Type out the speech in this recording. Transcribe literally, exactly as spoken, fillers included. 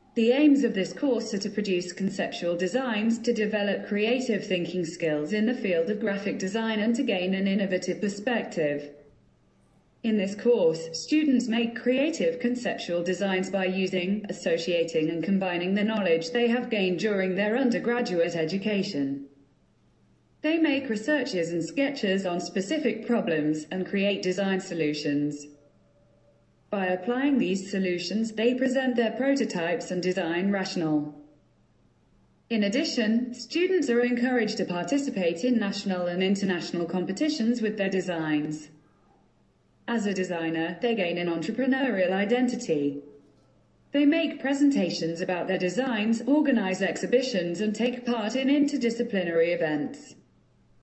The aims of this course are to produce conceptual designs, to develop creative thinking skills in the field of graphic design, and to gain an innovative perspective. In this course, students make creative conceptual designs by using, associating and combining the knowledge they have gained during their undergraduate education. They make researches and sketches on specific problems, and create design solutions. By applying these solutions, they present their prototypes and design rationale. In addition, students are encouraged to participate in national and international competitions with their designs. As a designer, they gain an entrepreneurial identity. They make presentations about their designs, organize exhibitions, and take part in interdisciplinary events.